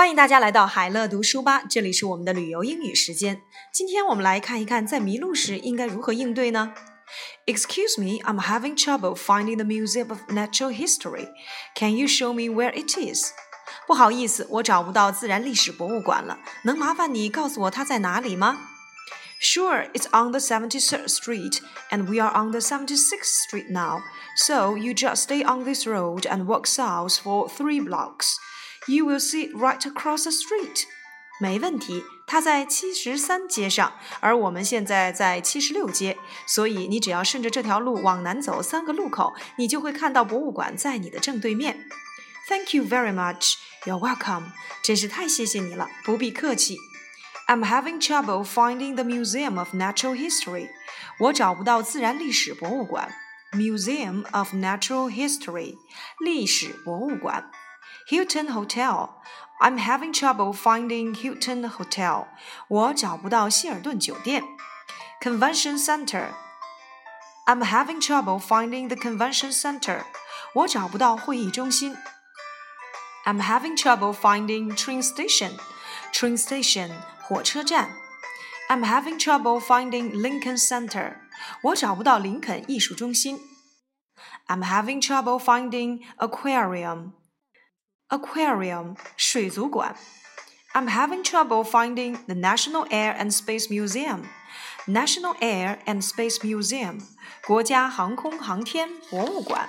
欢迎大家来到海乐读书吧，这里是我们的旅游英语时间。今天我们来看一看，在迷路时应该如何应对呢？ Excuse me, I'm having trouble finding the Museum of Natural History. Can you show me where it is? 不好意思，我找不到自然历史博物馆了，能麻烦你告诉我它在哪里吗？ Sure, it's on the 73rd Street, and we are on the 76th Street now. So you just stay on this road and walk south for 3 blocks. You will see it right across the street. 没问题，它在73街上，而我们现在在76街，所以你只要顺着这条路往南走3个路口，你就会看到博物馆在你的正对面。Thank you very much. You're welcome. 真是太谢谢你了，不必客气。I'm having trouble finding the Museum of Natural History. 我找不到自然历史博物馆。Museum of Natural History. 历史博物馆。Hilton Hotel. I'm having trouble finding Hilton Hotel. 我找不到希尔顿酒店。Convention Center. I'm having trouble finding the Convention Center. 我找不到会议中心。I'm having trouble finding train station. Train station, 火车站。I'm having trouble finding Lincoln Center. 我找不到林肯艺术中心。I'm having trouble finding aquarium. Aquarium, 水族馆。I'm having trouble finding the National Air and Space Museum. National Air and Space Museum, 国家航空航天博物馆。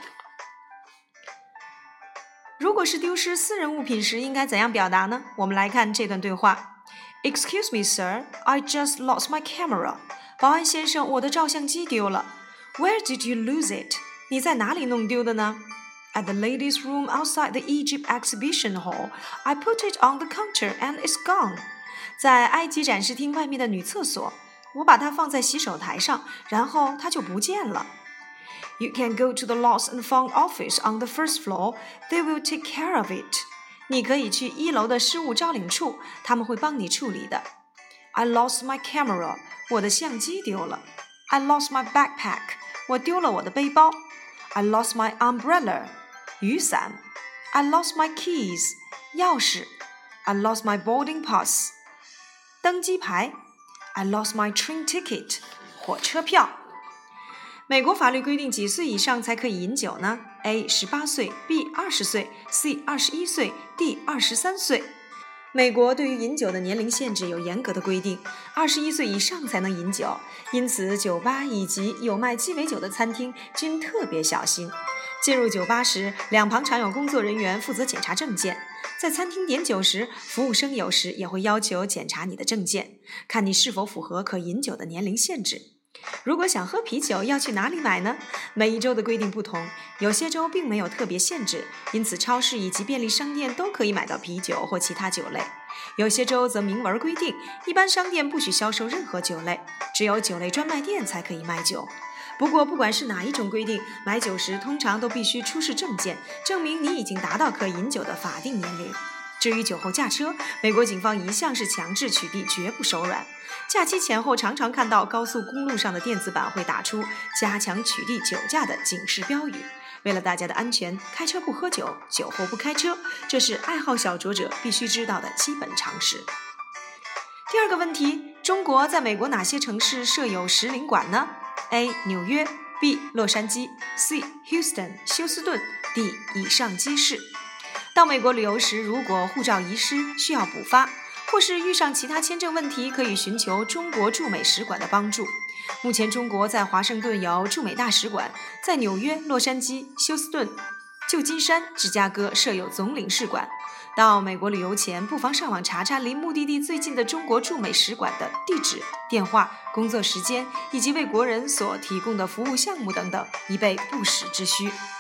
如果是丢失私人物品时应该怎样表达呢？我们来看这段对话。Excuse me, sir, I just lost my camera. 保安先生，我的照相机丢了。Where did you lose it? 你在哪里弄丢的呢？ At the ladies' room outside the Egypt exhibition hall. I put it on the counter and it's gone. 在埃及展示厅外面的女厕所，我把它放在洗手台上，然后它就不见了。You can go to the lost and found office on the first floor. They will take care of it. 你可以去1楼的失物招领处，他们会帮你处理的。I lost my camera. 我的相机丢了。I lost my backpack. 我丢了我的背包。I lost my umbrella. 雨伞。I lost my keys. 钥匙。I lost my boarding pass. 登机牌。I lost my train ticket. 火车票。美国法律规定几岁以上才可以饮酒呢？ A. 18岁 B. 20岁 C. 21岁 D. 23岁。美国对于饮酒的年龄限制有严格的规定，21岁以上才能饮酒，因此酒吧以及有卖鸡尾酒的餐厅均特别小心。进入酒吧时，两旁常有工作人员负责检查证件。在餐厅点酒时，服务生有时也会要求检查你的证件，看你是否符合可饮酒的年龄限制。如果想喝啤酒，要去哪里买呢？每一州的规定不同，有些州并没有特别限制，因此超市以及便利商店都可以买到啤酒或其他酒类。有些州则明文规定，一般商店不许销售任何酒类，只有酒类专卖店才可以卖酒。不过，不管是哪一种规定，买酒时通常都必须出示证件，证明你已经达到可饮酒的法定年龄。至于酒后驾车，美国警方一向是强制取缔，绝不手软。假期前后常常看到高速公路上的电子板会打出加强取缔酒驾的警示标语。为了大家的安全，开车不喝酒，酒后不开车，这是爱好小酌者必须知道的基本常识。第二个问题，中国在美国哪些城市设有使领馆呢？ A. 纽约 B. 洛杉矶 C. Houston 休斯顿 D. 以上皆是。到美国旅游时，如果护照遗失需要补发，或是遇上其他签证问题，可以寻求中国驻美使馆的帮助。目前中国在华盛顿有驻美大使馆，在纽约、洛杉矶、休斯顿、旧金山、芝加哥设有总领事馆。到美国旅游前，不妨上网查查离目的地最近的中国驻美使馆的地址、电话、工作时间以及为国人所提供的服务项目等等，以备不时之需。